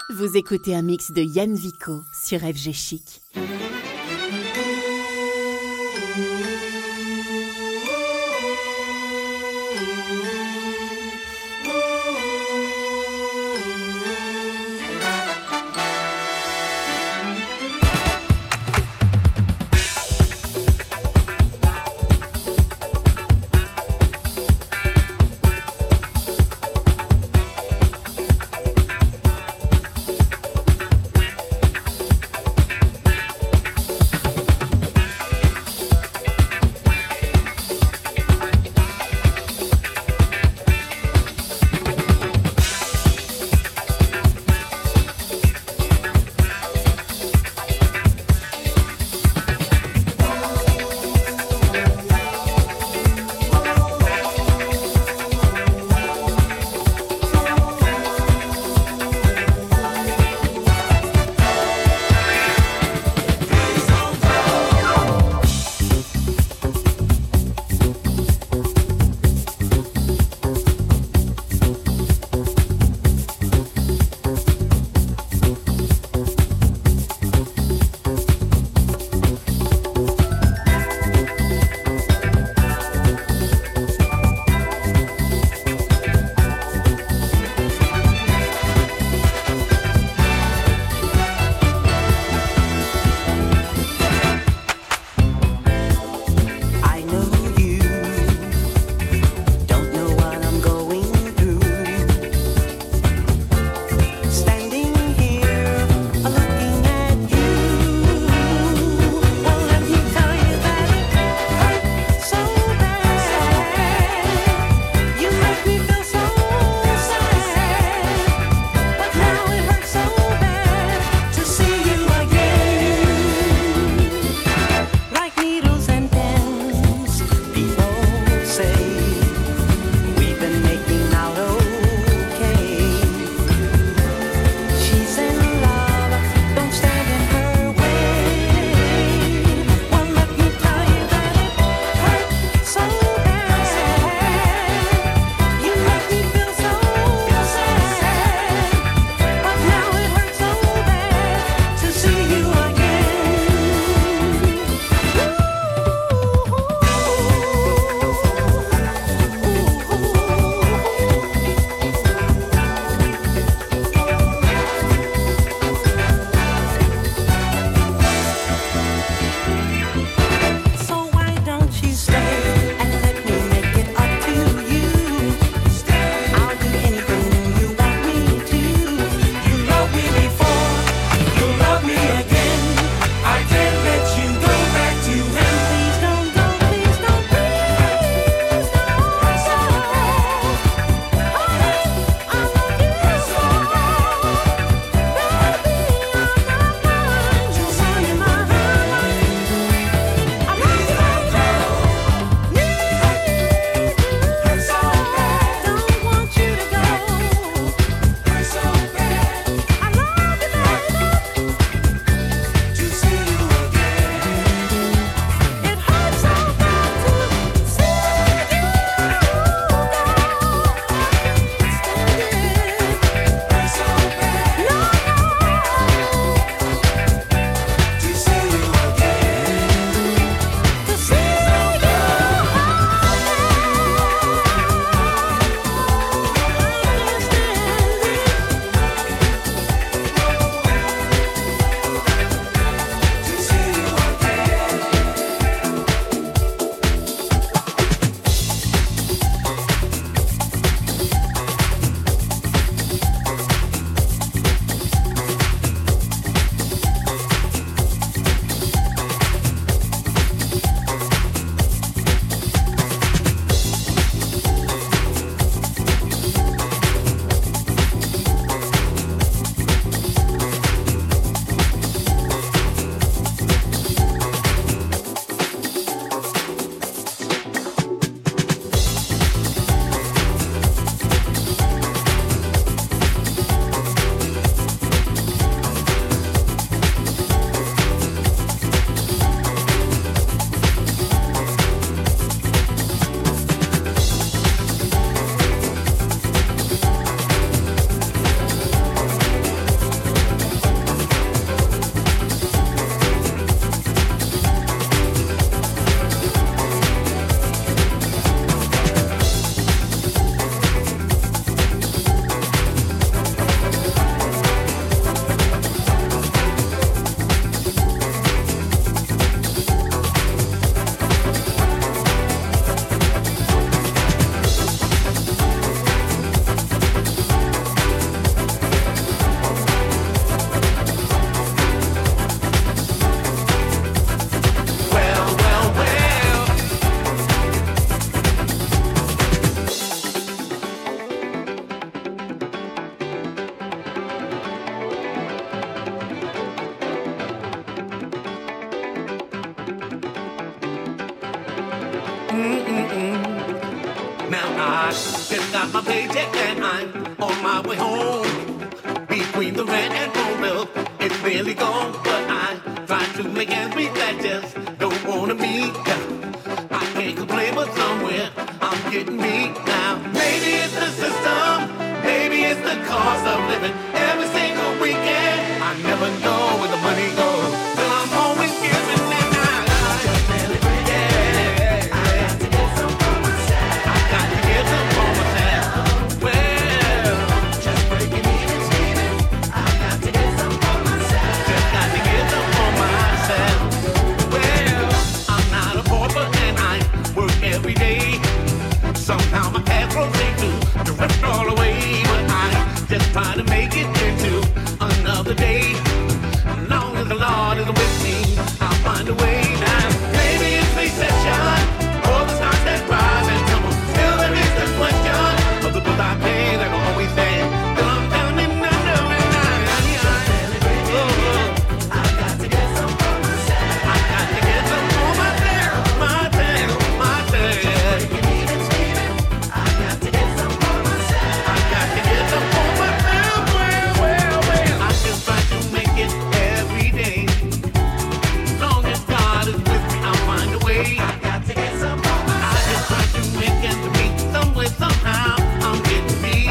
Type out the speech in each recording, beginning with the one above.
Vous écoutez un mix de Yann Vico sur FG Chic. Now I just got my paycheck and I'm on my way home. Between the rent and phone bill, it's barely gone, but I try to make ends meet. That just don't wanna meet. I can't complain, but somewhere I'm getting beat now. Maybe it's the system, maybe it's the cost of living. Every single weekend, I never know where the money goes. Till I'm always giving and somehow my path rolls into the rest all away, but I just try to make it into another day. As long as the Lord is with me, I'll find a way now. Maybe it's recession, or the stocks that rise and tumble. Still there is the question of the bills I pay that will always stand. Till I'm down and under and I got to get some for myself. I got to get some for myself, myself, myself. Somehow I'm getting me.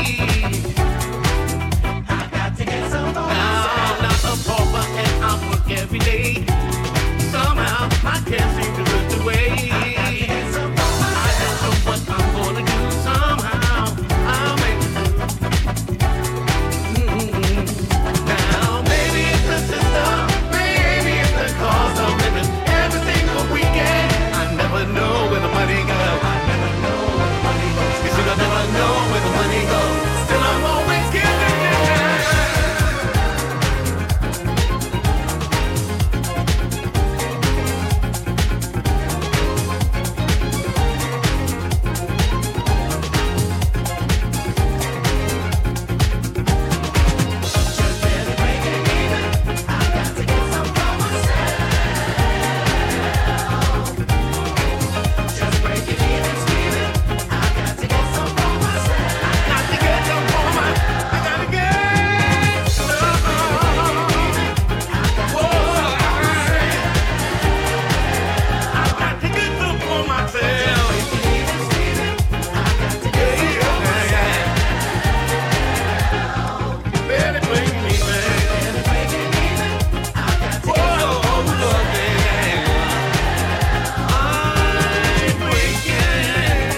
I got to get some more. Now, not a pauper and I work every day. Somehow I can't seem to look away. I don't know what I'm gonna do. Somehow I'll make it. Now maybe it's the system, maybe it's the cost of living. Every single weekend, I never know where the money goes. I never know where the money goes. Still I'm always giving just barely breaking even. I got to get some for myself. Just breaking even, Steven. I got to get some for myself. I got to get some for my. I gotta get some. Whoa, I got to get some for myself. Barely breaking even. Whoa, look, yeah. I'm breaking.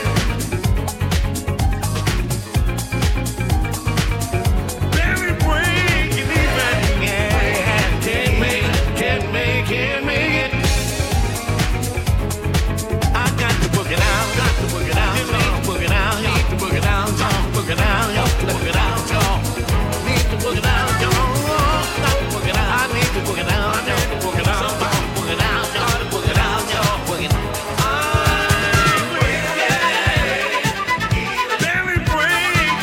Barely breaking even. Yeah, can't make it. I got to work it out, work it out, need to work it out, work it out, work it out, y'all. Need to work it out, y'all. Got to work it out, I need to work it out, work it out, work it out, y'all. Work it out, y'all. Work it out. I'm breaking. Barely breaking.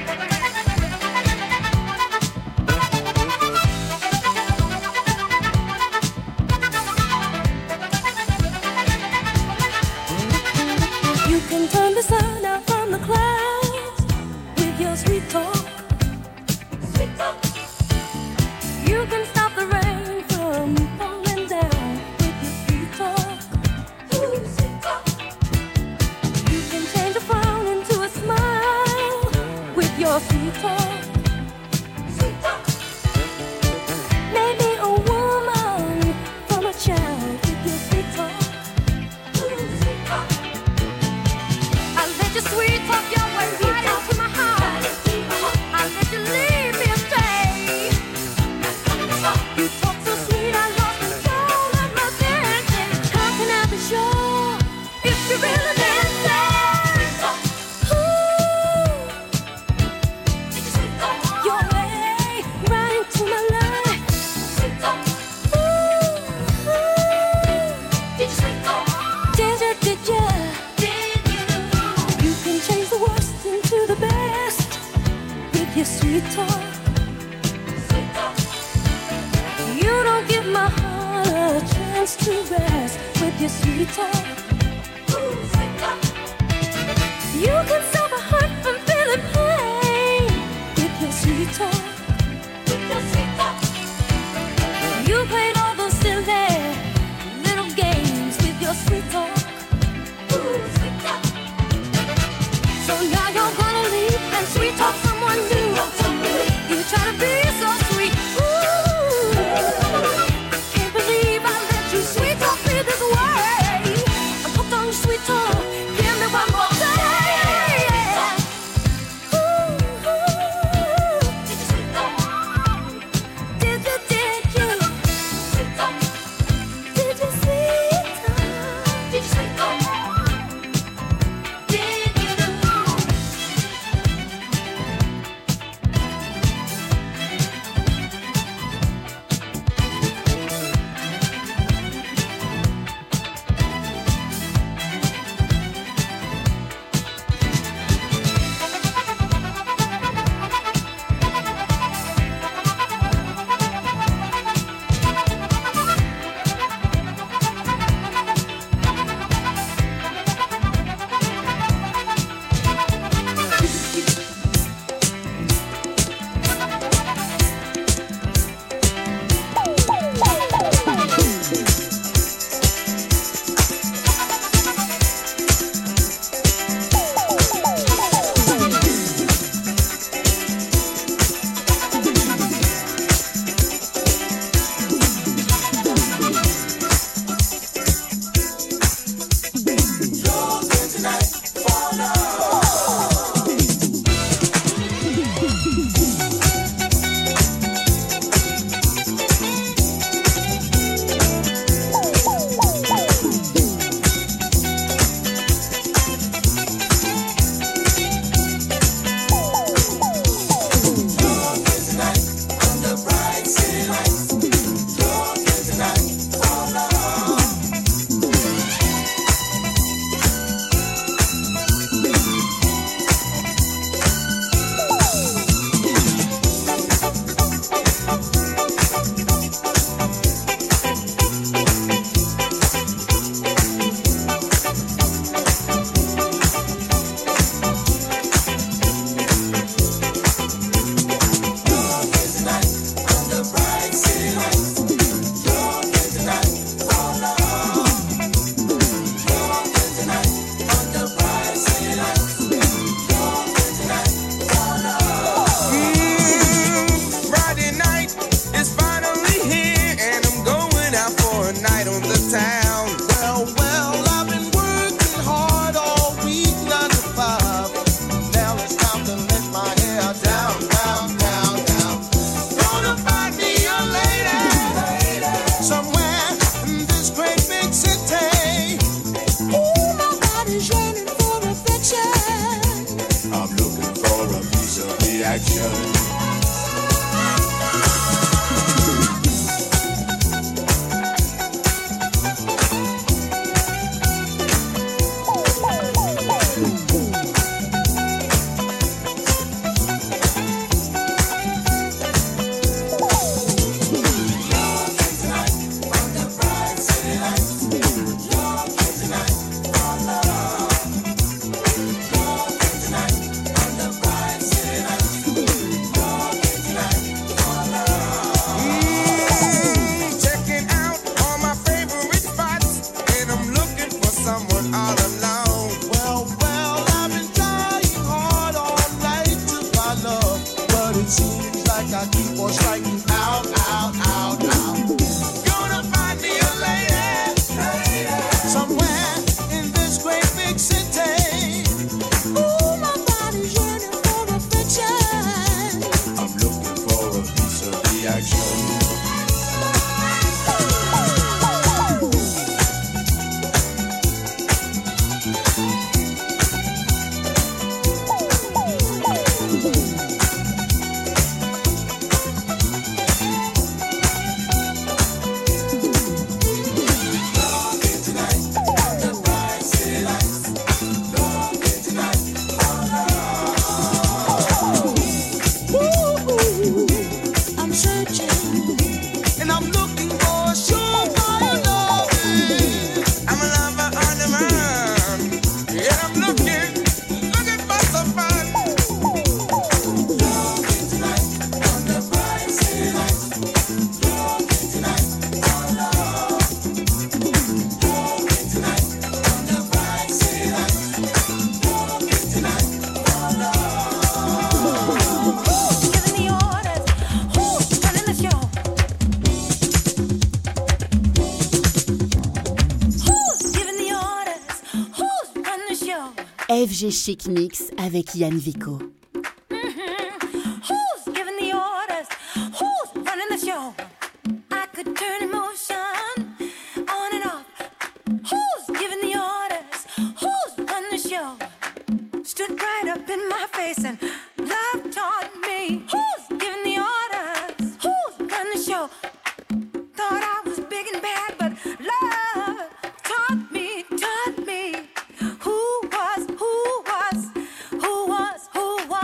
You can turn the sun out from the clouds with your sweet talk. Sweet talk. You can stop the rain from falling down with your sweet talk. Ooh, sweet talk. You can change a frown into a smile with your sweet talk. Sweet talk. Maybe a woman from a child with your sweet talk. Ooh, sweet talk. I let your sweet talk your way right into my heart. I let you lead me astray. You talk so sweet, I lost control of my thinking. How can I be sure if you really meant it? Ooh, your way right into my life. Ooh, did you? You can change the worst into the best with your sweet talk. You don't give my heart a chance to rest with your sweet talk. Ooh, sweet talk. FG Chic Mix avec Yann Vico. Who's giving the orders? Who's running the show? I could turn emotion on and off. Who's giving the orders? Who's running the show? Stood right up in my face and love taught me. Who's giving the orders? Who's running the show? Thought I was big and bad, but love taught me who was.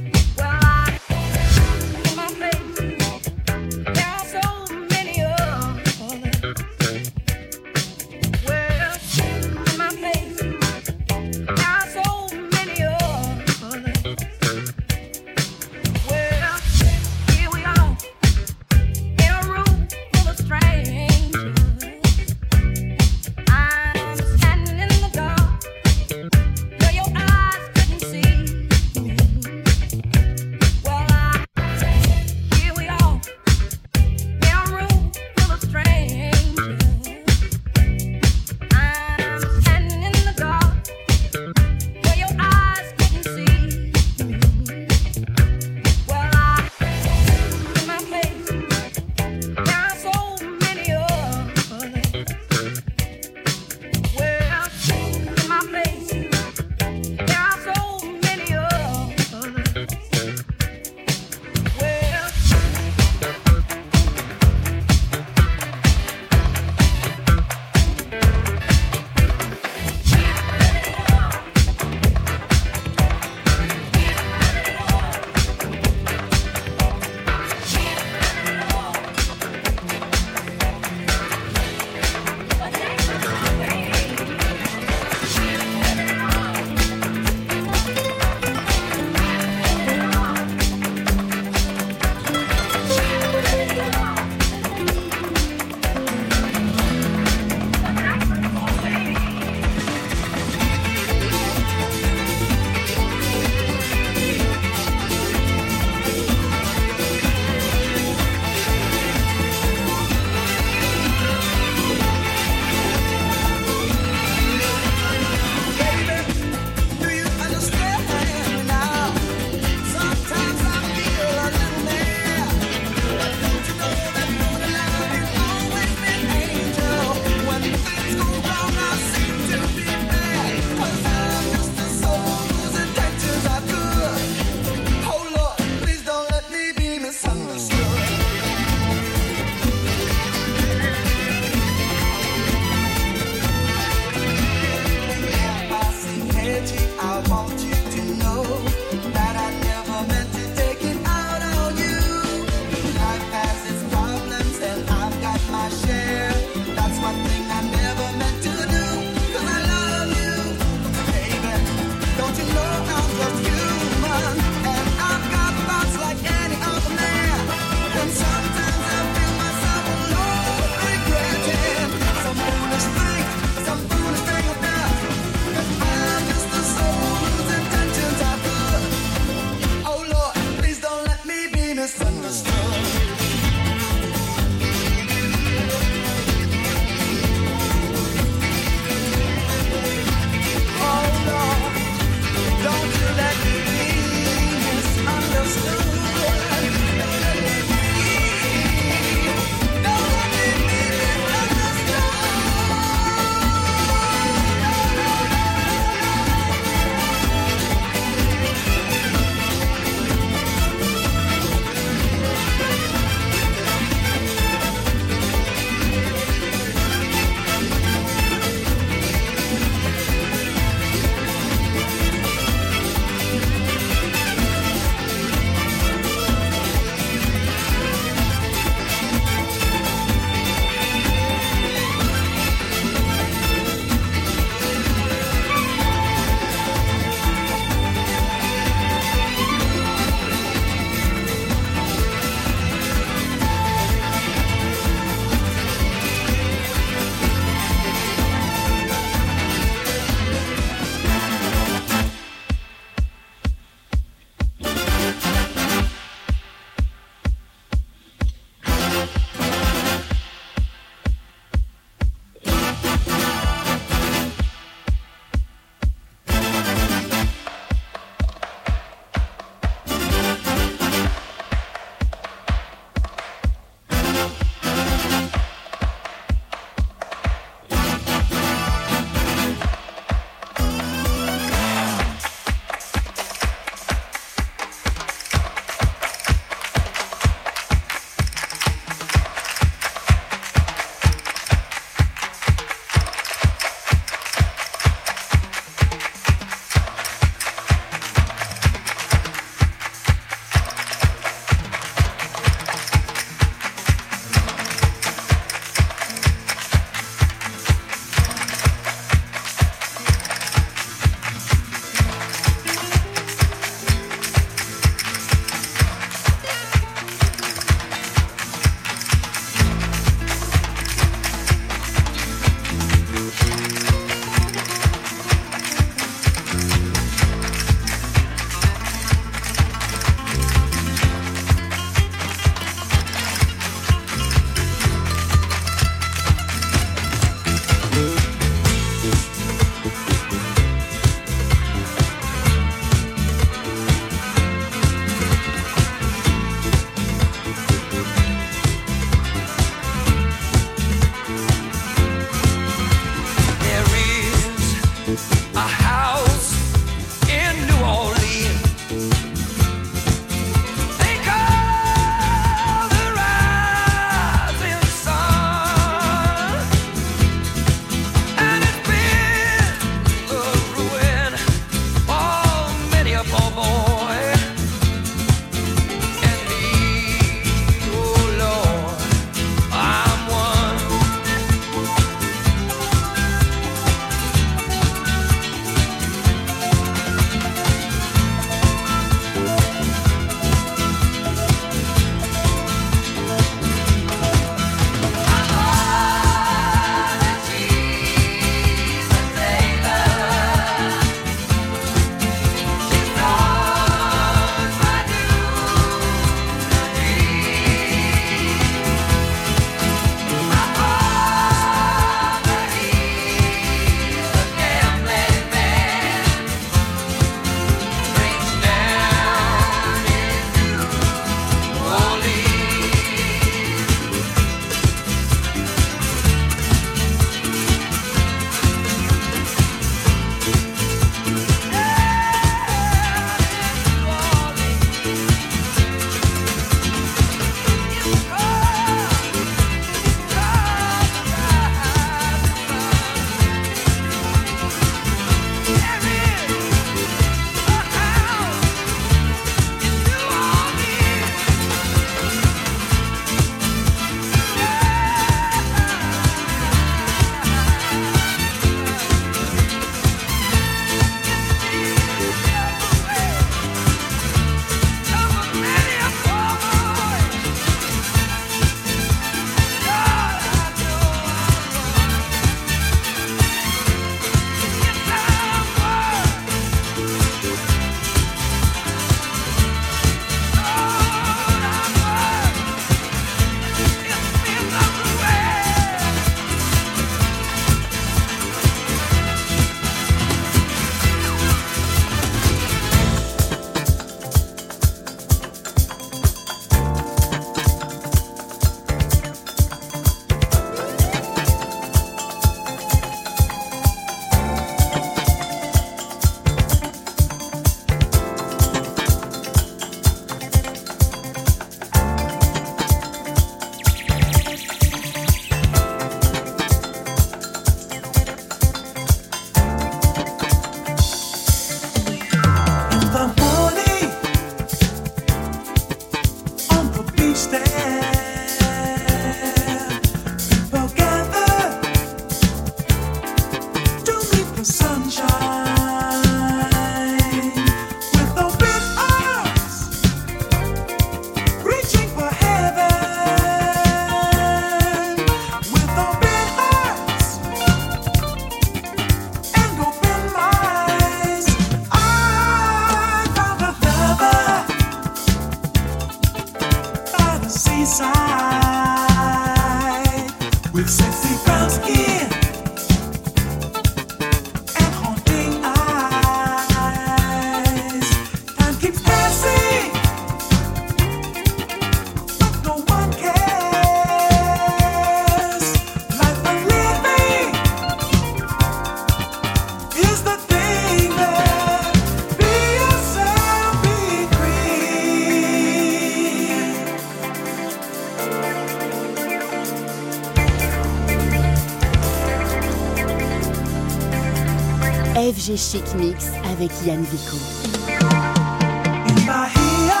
FG Chic Mix avec Yann Vico. In Bahia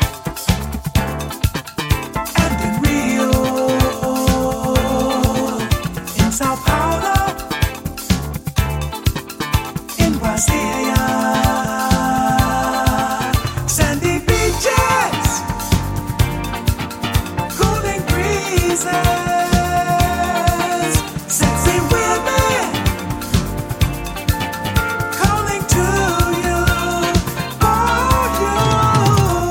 and in Rio, in Sao Paulo, in Brasilia, sandy beaches, cooling breezes, sexy women calling to you, for you.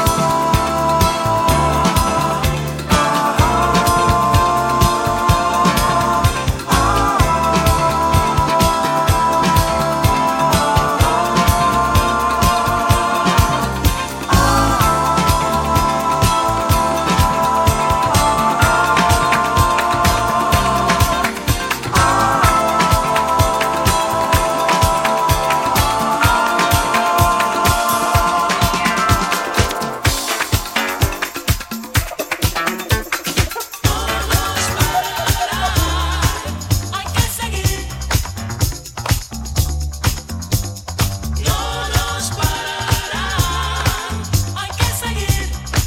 Hay que seguir, no nos pararán. Hay que seguir.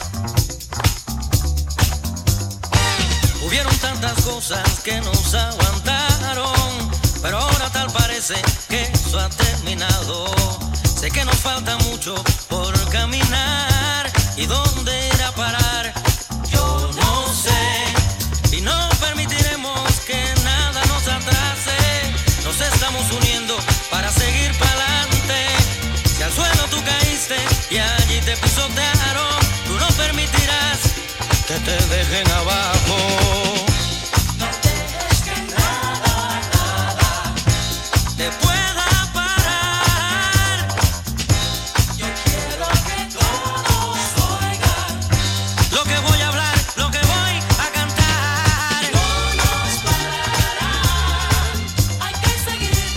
Hubieron tantas cosas que nos aguantaron, pero ahora tal parece que eso ha terminado. Sé que nos falta mucho por caminar y dónde ir a parar, yo no sé. Y no permitiremos que nada nos atrase. Nos estamos uniendo para seguir pa'lante. Si al suelo tú caíste y allí te pisotearon, tú no permitirás que te dejen abajo. No dejes que nada Te pueda parar. Yo quiero que todos oigan. Lo que voy a hablar, lo que voy a cantar. No nos pararán. Hay que seguir.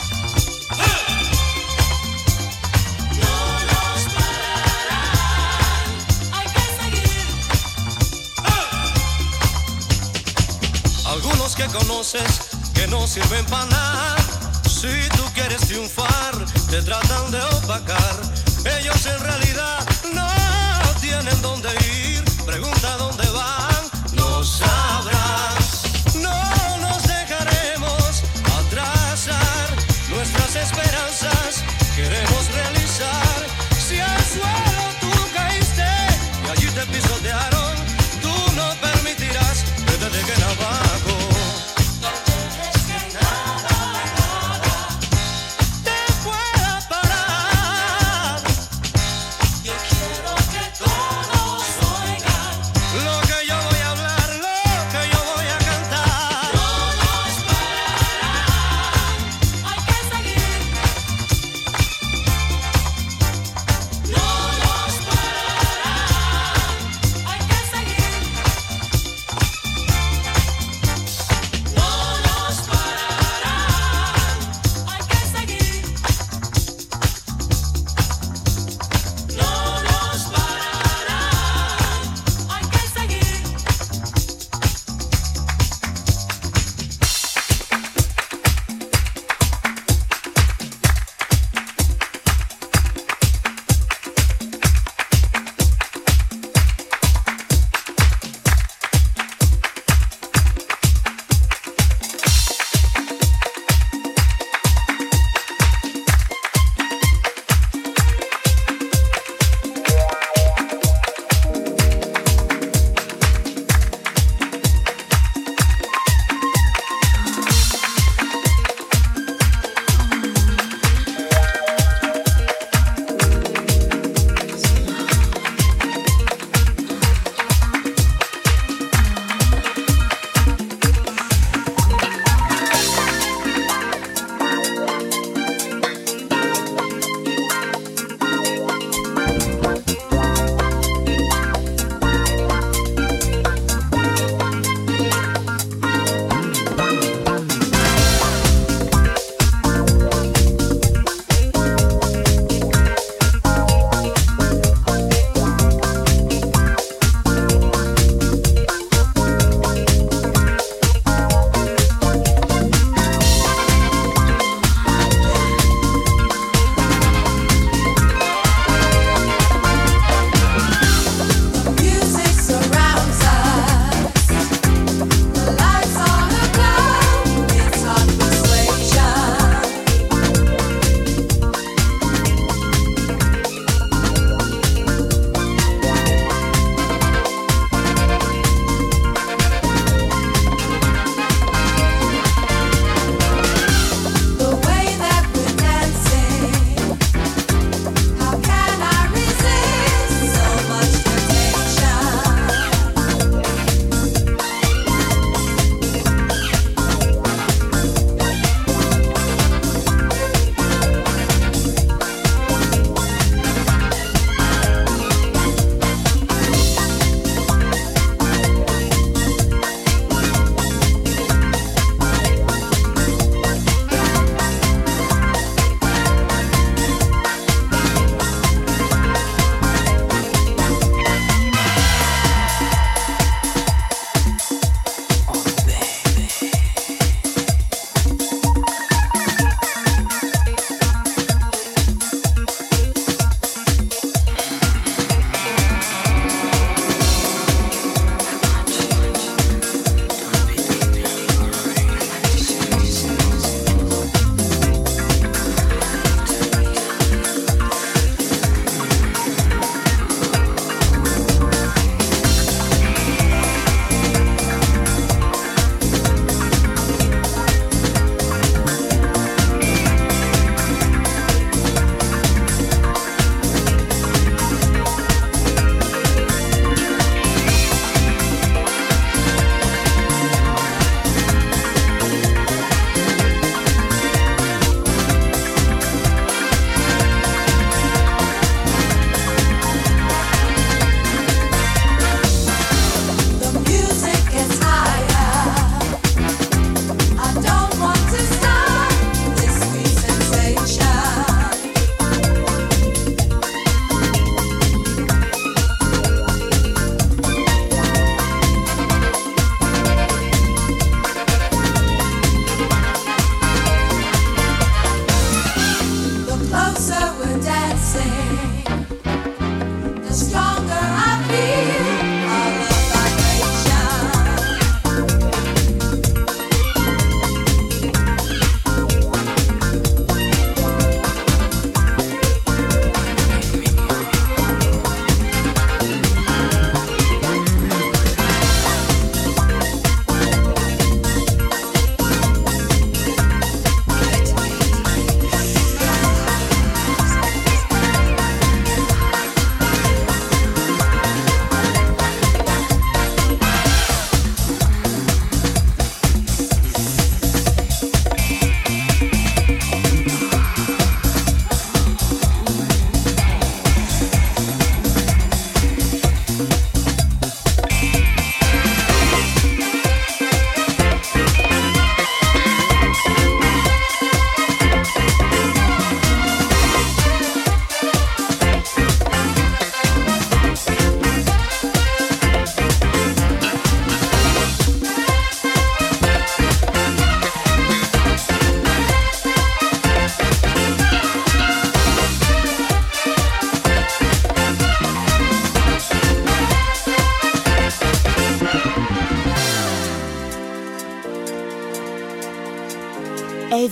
No nos pararán. Hay que seguir. Algunos que conoces que no sirven para nada. Si tú quieres triunfar, te tratan de opacar. Ellos en realidad no tienen dónde ir. Pregunta dónde van, no sabrás. No nos dejaremos atrasar nuestras esperanzas. Queremos realizar. Si al suelo tú caíste y allí te pisotearon, tú no permitirás que te dejen abajo. No dejes que nada Te pueda parar. Yo quiero que todos oigan. Lo que yo voy a hablar, lo que yo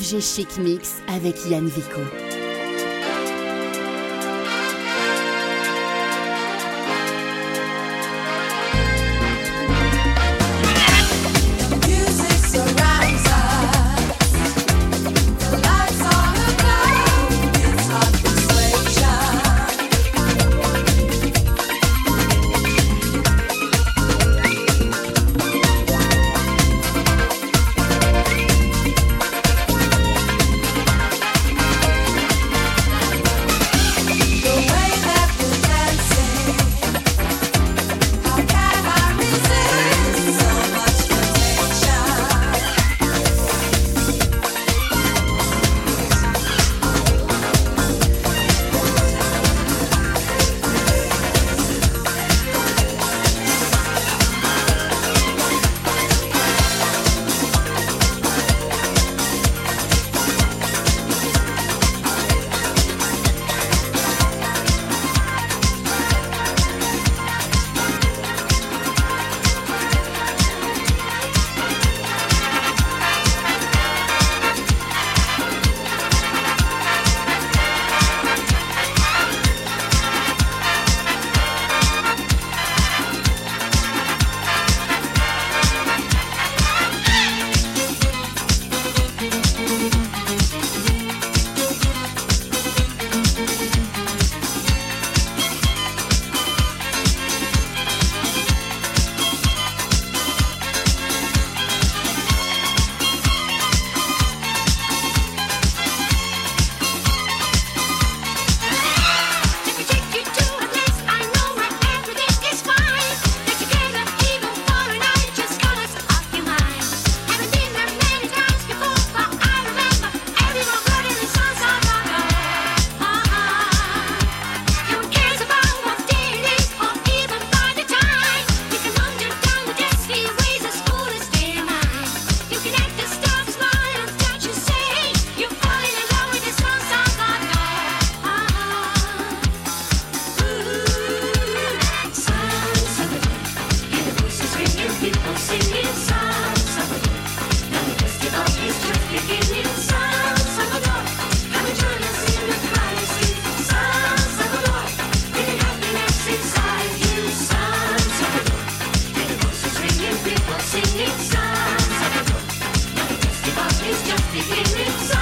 FG Chic Mix avec Yann Vico. Singing songs of the Lord. Now the festival is just beginning.